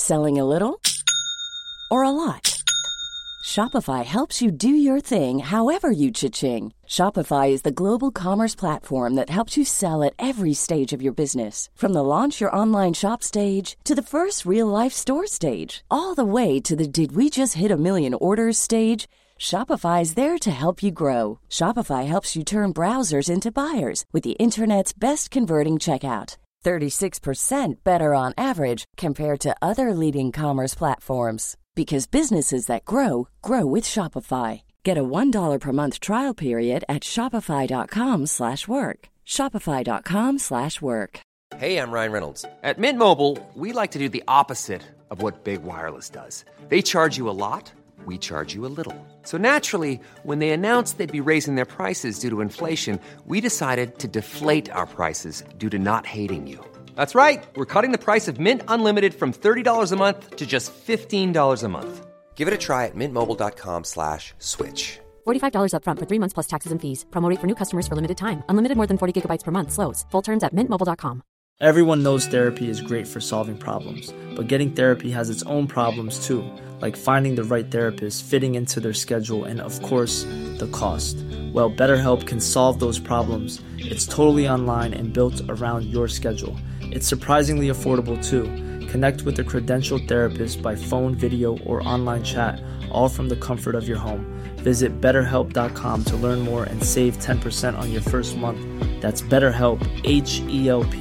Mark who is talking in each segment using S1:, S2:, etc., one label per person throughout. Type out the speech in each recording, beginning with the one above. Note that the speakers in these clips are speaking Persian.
S1: Selling a little or a lot? Shopify helps you do your thing however you cha-ching. Shopify is the global commerce platform that helps you sell at every stage of your business. From the launch your online shop stage to the first real-life store stage, all the way to the did we just hit a million orders stage. Shopify is there to help you grow. Shopify helps you turn browsers into buyers with the internet's best converting checkout. 36% better on average compared to other leading commerce platforms. Because businesses that grow, grow with Shopify. Get a $1 per month trial period at shopify.com/work. Shopify.com/work.
S2: Hey, I'm Ryan Reynolds. At Mint Mobile, we like to do the opposite of what Big Wireless does. They charge you a lot, we charge you a little. So naturally, when they announced they'd be raising their prices due to inflation, we decided to deflate our prices due to not hating you. That's right. We're cutting the price of Mint Unlimited from $30 a month to just $15 a month. Give it a try at mintmobile.com/switch.
S3: $45 up front for 3 months plus taxes and fees. Promo rate for new customers for limited time. Unlimited more than 40 gigabytes per month. Slows full terms at mintmobile.com.
S4: Everyone knows therapy is great for solving problems, but getting therapy has its own problems too, like finding the right therapist, fitting into their schedule, and of course, the cost. Well, BetterHelp can solve those problems. It's totally online and built around your schedule. It's surprisingly affordable too. Connect with a credentialed therapist by phone, video, or online chat, all from the comfort of your home. Visit BetterHelp.com to learn more and save 10% on your first month. That's BetterHelp, H-E-L-P.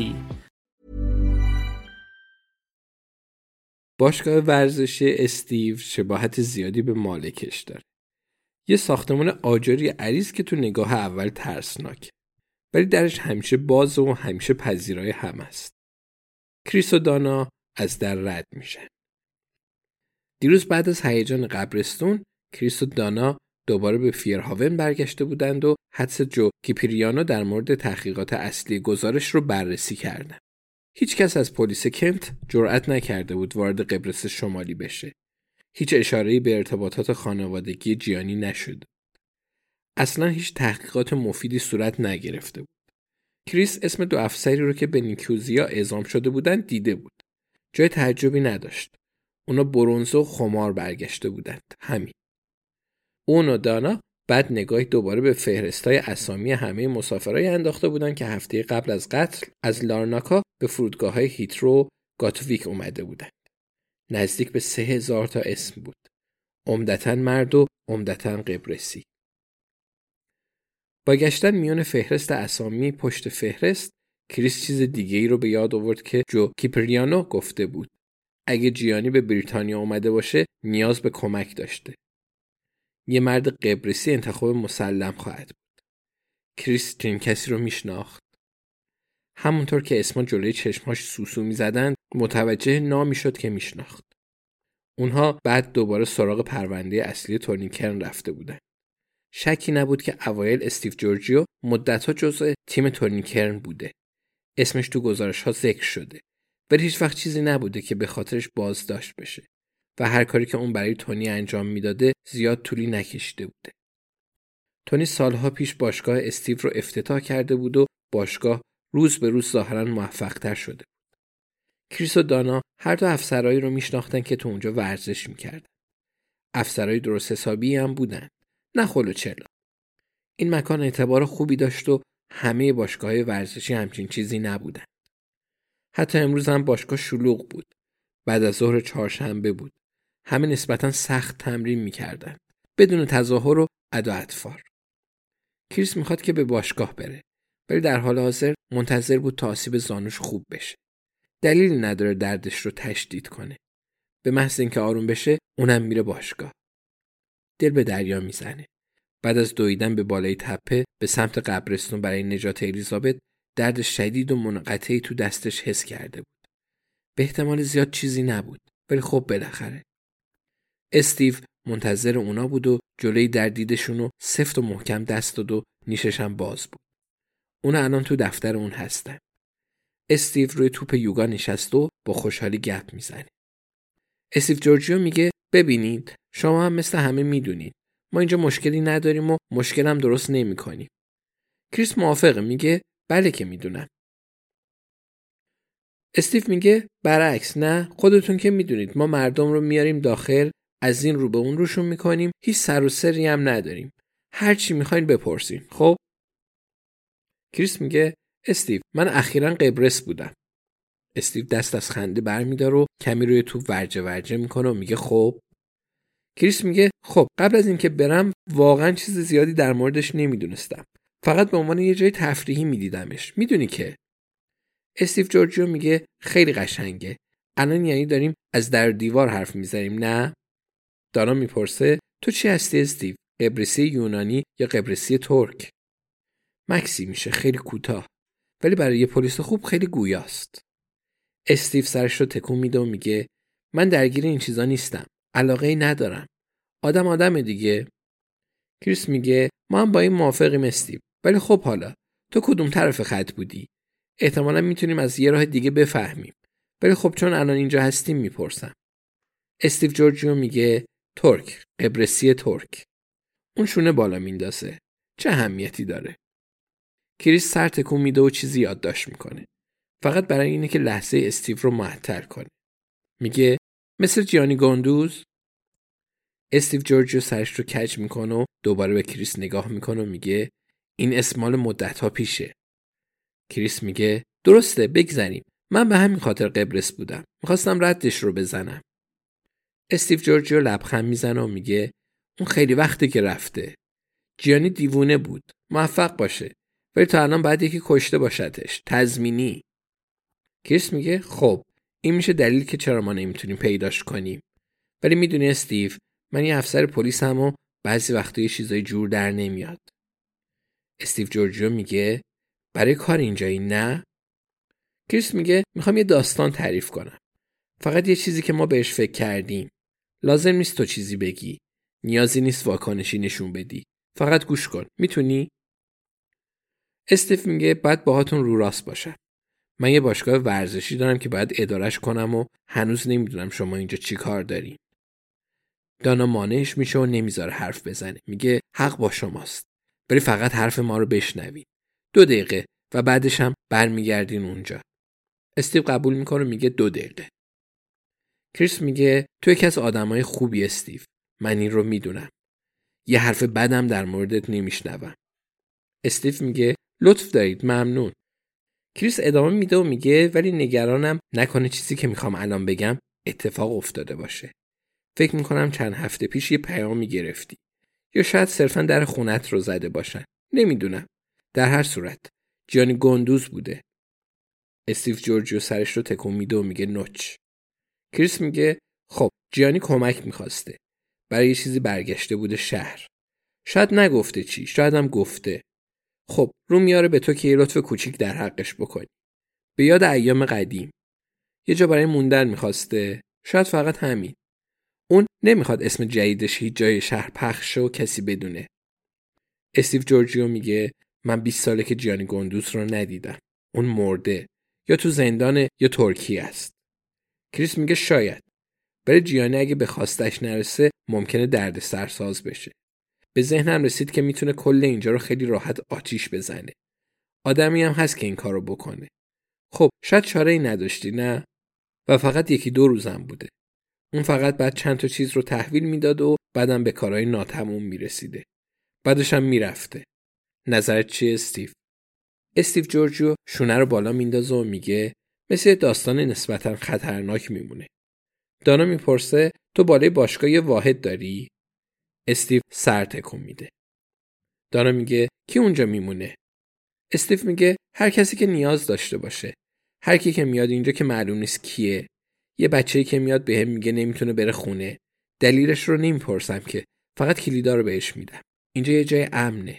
S5: باشگاه ورزشی استیو شباهت زیادی به مالکش داره. یه ساختمان آجری عریض که تو نگاه اول ترسناک، ولی درش همیشه باز و همیشه پذیرای هم است. کریس و دانا از در رد میشن. دیروز بعد از هیجان قبرستون، کریس و دانا دوباره به فیرهاون برگشته بودند و حدس جو کیپریانو در مورد تحقیقات اصلی گزارش رو بررسی کردند. هیچ کس از پلیس کنت جرئت نکرده بود وارد قبرس شمالی بشه. هیچ اشاره‌ای به ارتباطات خانوادگی جیانی نشد. اصلا هیچ تحقیقات مفیدی صورت نگرفته بود. کریس اسم 2 افسری رو که به نیکوزیا اعزام شده بودند دیده بود. جای تعجبی نداشت. اونا برنزه و خمار برگشته بودند. همین. اون و دانا بعد نگاهی دوباره به فهرستای اسامی همه مسافرای انداخته بودند که هفته قبل از قتل از لارناکا به فرودگاه‌های هیترو گاتویک اومده بودند. نزدیک به 3000 تا اسم بود. عمدتاً مرد و عمدتاً قبرسی. با گشتن میون فهرست اسامی پشت فهرست، کریس چیز دیگه‌ای رو به یاد آورد که جو کیپریانو گفته بود. اگه جیانی به بریتانیا اومده باشه، نیاز به کمک داشته. یه مرد قبرسی انتخاب مسلم خواهد بود. کریس چنین کسی رو میشناخت. همونطور که اسما جلوی چشماش سوسو میزدند، متوجه نامی شد که میشناخت. اونها بعد دوباره سراغ پرونده اصلی تورنیکرن رفته بودند. شکی نبود که اوایل استیو جورجیو مدت‌ها جزء تیم تورنیکرن بوده. اسمش تو گزارش‌ها ذکر شده. ولی هیچ وقت چیزی نبوده که به خاطرش بازداشت بشه. و هر کاری که اون برای تونی انجام میداده زیاد طولی نکشیده بوده. تونی سالها پیش باشگاه استیو رو افتتاح کرده بود و باشگاه روز به روز ظاهراً موفق‌تر شده بود. کریس و دانا هر دو افسرایی رو میشناختن که تو اونجا ورزش میکردن. افسرای درست حسابی هم بودن. نه خلو چلا. این مکان اعتبار خوبی داشت و همه باشگاه‌های ورزشی همچین چیزی نبودن. حتی امروز هم باشگاه شلوغ بود. بعد از ظهر چهارشنبه بود. همه نسبتاً سخت تمرین میکردن. بدون تظاهر و ادا اطفار. کریس میخواد که به باشگاه بره. ولی در حال حاضر منتظر بود تا آسیب زانوش خوب بشه. دلیلی نداره دردش رو تشدید کنه. به محض اینکه آروم بشه اونم میره باشگاه. دل به دریا میزنه. بعد از دویدن به بالای تپه به سمت قبرستون برای نجات الیزابت، درد شدید و منقطعی تو دستش حس کرده بود. به احتمال زیاد چیزی نبود، ولی خب بالاخره. استیو منتظر اونا بود و جلوی دردیدشونو سفت و محکم دست داد و نیشش هم باز بود. اونا الان تو دفتر اون هستن. استیو روی توپ یوگا نشسته و با خوشحالی گپ میزنه. استیو جورجیو میگه ببینید شما هم مثل همه میدونید. ما اینجا مشکلی نداریم و مشکلم درست نمی‌کنیم. کریس موافقه، میگه بله که میدونم. استیو میگه برعکس، نه، خودتون که میدونید ما مردم رو میاریم داخل، از این رو به اون روشون میکنیم، هیچ سر و سری هم نداریم، هر چی میخواین بپرسین. خب کریس میگه استیو من اخیراً قبرس بودم. استیو دست از خنده برمیداره و کمی روی توپ ورجه میکنه و میگه خب. کریس میگه خب قبل از اینکه برم واقعاً چیز زیادی در موردش نمیدونستم، فقط به عنوان یه جای تفریحی میدیدمش، میدونی که. استیو جورجیو میگه خیلی قشنگه، الان یعنی داریم از در دیوار حرف میزنیم نه؟ دانا میپرسه تو چی هستی استیو؟ قبرسی یونانی یا قبرسی ترک؟ مکسی میشه خیلی کوتاه، ولی برای یه پلیس خوب خیلی گویاست. استیو سرش رو تکون میده و میگه من درگیر این چیزا نیستم، علاقه‌ای ندارم، آدم دیگه. کریس میگه ما هم با این موافقیم استیو، ولی خب حالا تو کدوم طرف خط بودی؟ احتمالاً میتونیم از یه راه دیگه بفهمیم، ولی خب چون الان اینجا هستیم میپرسم. استیو جورجیو میگه ترک، قبرسی ترک. اون شونه بالا میندازه، چه اهمیتی داره؟ کریس سر تکون میده و چیزی یادداشت میکنه، فقط برای اینه که لحظه استیو رو معطل کنه. میگه مثل جیانی گوندوز. استیو جورجیو سرش رو کج میکنه و دوباره به کریس نگاه میکنه و میگه این اسم مال مدت‌ها پیشه. کریس میگه درسته بگذریم، من به همین خاطر قبرس بودم، میخواستم ردش رو بزنم. استیو جورجیو لبخند میزنه و میگه اون خیلی وقته که رفته. جیانی دیوونه بود، موفق باشه، ولی تا الان باید یکی کشته باشدش، تضمینی. کریس میگه خب این میشه دلیل که چرا ما نمیتونیم پیداش کنیم، ولی میدونی استیو من یه افسر پلیسم و بعضی وقتا یه چیزای جور در نمیاد. استیو جورجیو میگه برای کار اینجایی نه؟ کریس میگه میخوام یه داستان تعریف کنم، فقط یه چیزی که ما بهش فکر کردیم. لازم نیست تو چیزی بگی، نیازی نیست واکنشی نشون بدی، فقط گوش کن، میتونی؟ استیو میگه باید باهاتون رو راست باشم. من یه باشگاه ورزشی دارم که باید ادارش کنم و هنوز نمیدونم شما اینجا چی کار دارین. دانا مانعش میشه و نمیذاره حرف بزنه. میگه حق با شماست، ولی فقط حرف ما رو بشنوین. 2 دقیقه و بعدش هم برمیگردین اونجا. استیو قبول میکنه، میگه 2 دقیقه. کریس میگه تو یکی از آدمای خوبی استیو، من این رو میدونم. یه حرف بدم در موردت نمیشنوم. استیو میگه لطف دارید، ممنون. کریس ادامه میده و میگه ولی نگرانم نکنه چیزی که میخوام الان بگم اتفاق افتاده باشه. فکر میکنم چند هفته پیش یه پیامی گرفتی، یا شاید صرفاً در خونت رو زده باشن، نمیدونم. در هر صورت جیانی گوندوز بوده. استیو جورجیو سرش رو تکون میده و میگه نوچ. کریس میگه خب جیانی کمک میخواسته، برای یه چیزی برگشته بوده شهر. شاید نگفته چی، شاید هم گفته. خب رو میاره به تو که یه لطف کوچیک در حقش بکنی. به یاد ایام قدیم. یه جا برای موندن میخواسته، شاید فقط همین. اون نمیخواد اسم جدیدش هیچ جای شهر پخش شه و کسی بدونه. استیو جورجیو میگه من 20 ساله که جیانی گوندوز رو ندیدم. اون مرده، یا تو زندان یا ترکیه است. کریس میگه شاید، ولی جیانی اگه به خواستش نرسه ممکنه درد سرساز بشه. به ذهنم رسید که میتونه کل اینجا رو خیلی راحت آتیش بزنه. آدمی هم هست که این کارو بکنه. خب شاید چاره‌ای نداشتی نه؟ و فقط 1-2 روزم بوده. اون فقط بعد چند تا چیز رو تحویل میداد و بعدم به کارهای ناتموم میرسیده. بعدش هم میرفته. نظرت چیه استیو؟ استیو جورجیو شونه رو بالا میندازه و میگه مثل داستان نسبتاً خطرناک میمونه. دانا میپرسه تو بالای باشگاه یه واحد داری؟ استیو سر تکون میده. دانا میگه کی اونجا میمونه؟ استیو میگه هر کسی که نیاز داشته باشه. هر کی که میاد اینجا که معلوم نیست کیه. یه بچه‌ای که میاد بهم میگه نمیتونه بره خونه. دلیلش رو نمیپرسم که، فقط کلیدا رو بهش میدم. اینجا یه جای امنه.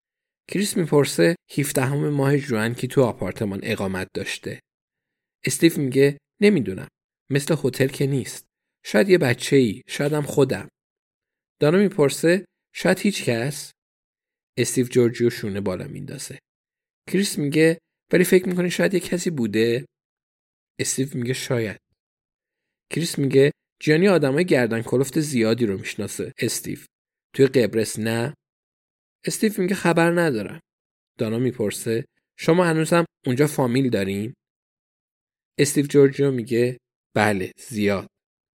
S5: کریس میپرسه 17 ماه ژوئن کی تو آپارتمان اقامت داشته؟ استیو میگه نمیدونم. مثل هتل که نیست. شاید یه بچه‌ای، شاید هم خودم. دانا میپرسه شاید هیچ کس؟ استیو جورجیو شونه بالا میندازه. کریس میگه ولی فکر میکنی شاید یه کسی بوده؟ استیو میگه شاید. کریس میگه جیانی آدمای گردن کلفت زیادی رو میشناسه استیو. توی قبرس نه؟ استیو میگه خبر ندارم. دانا میپرسه شما هنوزم اونجا فامیل دارین؟ استیو جورجیو میگه بله زیاد.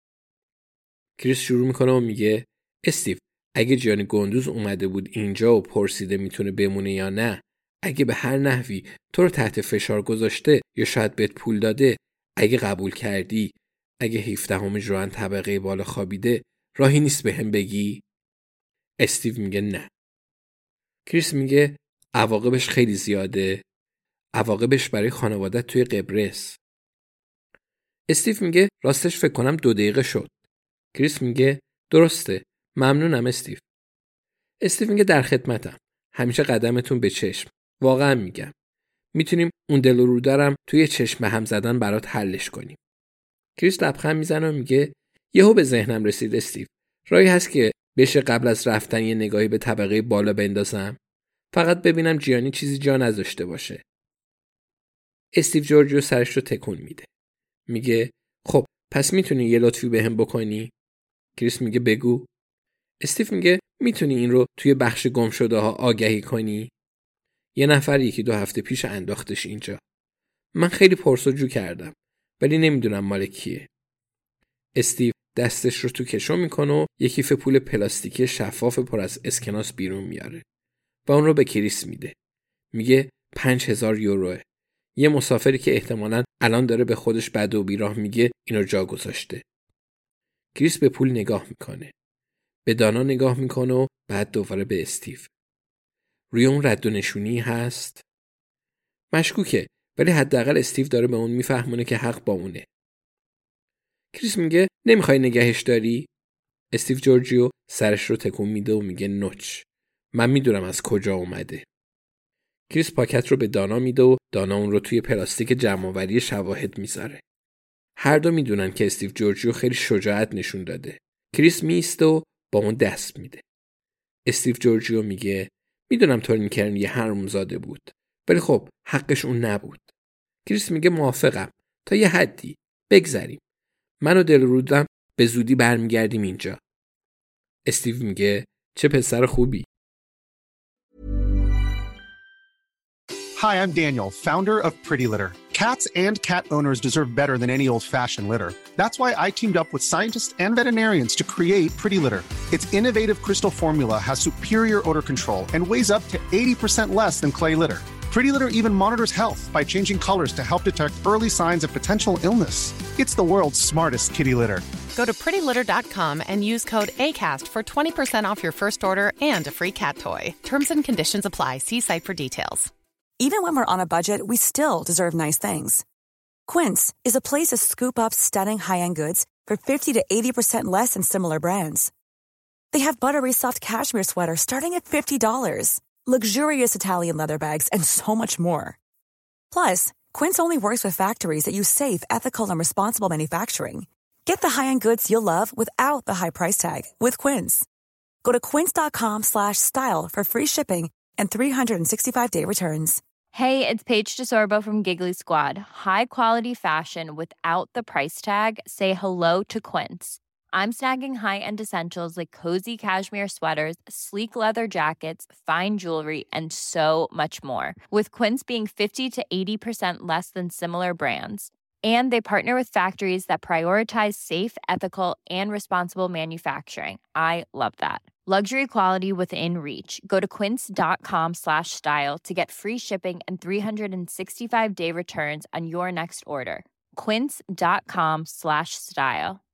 S5: کریس شروع میکنه و میگه استیو اگه جیانی گندوز اومده بود اینجا و پرسیده میتونه بمونه یا نه، اگه به هر نحوی تو رو تحت فشار گذاشته یا شاید بهت پول داده، اگه قبول کردی، اگه 17 ژوئن طبقه بالا خوابیده، راهی نیست بهم بگی؟ استیو میگه نه. کریس میگه عواقبش خیلی زیاده. عواقبش برای خانوادت توی قبرس. استیو میگه راستش فکر کنم 2 دقیقه شد. کریس میگه درسته. ممنونم استیو. استیو میگه در خدمتم. همیشه قدمتون به چشم. واقعا میگم. میتونیم اون دل و رو دارم توی چشم به هم زدن برات حلش کنیم. کریس لبخند میزنه و میگه یهو به ذهنم رسید استیو. راهی هست که بشه قبل از رفتن یه نگاهی به طبقه بالا بندازم؟ فقط ببینم جیانی چیزی جا نذاشته باشه. استیو جورجیو سرش رو تکون میده. میگه خب پس میتونی یه لطفی بهم بکنی؟ کریس میگه بگو. استیو میگه میتونی این رو توی بخش گم شده ها آگهی کنی؟ یه نفر 1-2 هفته پیش انداختش اینجا. من خیلی پرسجو کردم ولی نمیدونم مال کیه. استیو دستش رو تو کشو میکنه و یه کیف پول پلاستیکی شفاف پر از اسکناس بیرون میاره و اون رو به کریس میده. میگه 5000 یوروه. یه مسافری که احتمالاً الان داره به خودش بد و بیراه میگه اینو جا گذاشته. کریس به پول نگاه میکنه. به دانا نگاه میکنه و بعد دوباره به استیو. روی اون رد و نشونی هست؟ مشکوکه ولی حداقل استیو داره به اون میفهمونه که حق با اونه. کریس میگه نمیخوای نگهش داری؟ استیو جورجیو سرش رو تکون میده و میگه نوچ. من میدونم از کجا اومده. کریس پاکت رو به دانا میده و دانا اون رو توی پلاستیک جمع‌آوری شواهد میذاره. هر دو میدونن که استیو جورجیو خیلی شجاعت نشون داده. کریس میسته و با اون دست میده. استیو جورجیو میگه میدونم تورنیکرن یه حرومزاده بود ولی خب حقش اون نبود. کریس میگه موافقم تا یه حدی. بگذریم. من و دلرودم به زودی برمیگردیم اینجا. استیو میگه چه پسر خوبی.
S6: Hi, I'm Daniel, founder of Pretty Litter. Cats and cat owners deserve better than any old-fashioned litter. That's why I teamed up with scientists and veterinarians to create Pretty Litter. Its innovative crystal formula has superior odor control and weighs up to 80% less than clay litter. Pretty Litter even monitors health by changing colors to help detect early signs of potential illness. It's the world's smartest kitty litter.
S7: Go to prettylitter.com and use code ACAST for 20% off your first order and a free cat toy. Terms and conditions apply. See site for details.
S8: Even when we're on a budget, we still deserve nice things. Quince is a place to scoop up stunning high-end goods for 50 to 80% less than similar brands. They have buttery soft cashmere sweaters starting at $50, luxurious Italian leather bags, and so much more. Plus, Quince only works with factories that use safe, ethical, and responsible manufacturing. Get the high-end goods you'll love without the high price tag with Quince. Go to quince.com/style for free shipping and 365-day returns.
S9: Hey, it's Paige DeSorbo from Giggly Squad. High quality fashion without the price tag. Say hello to Quince. I'm snagging high-end essentials like cozy cashmere sweaters, sleek leather jackets, fine jewelry, and so much more. With Quince being 50 to 80% less than similar brands. And they partner with factories that prioritize safe, ethical, and responsible manufacturing. I love that. Luxury quality within reach. Go to quince.com/style to get free shipping and 365-day returns on your next order. Quince.com/style.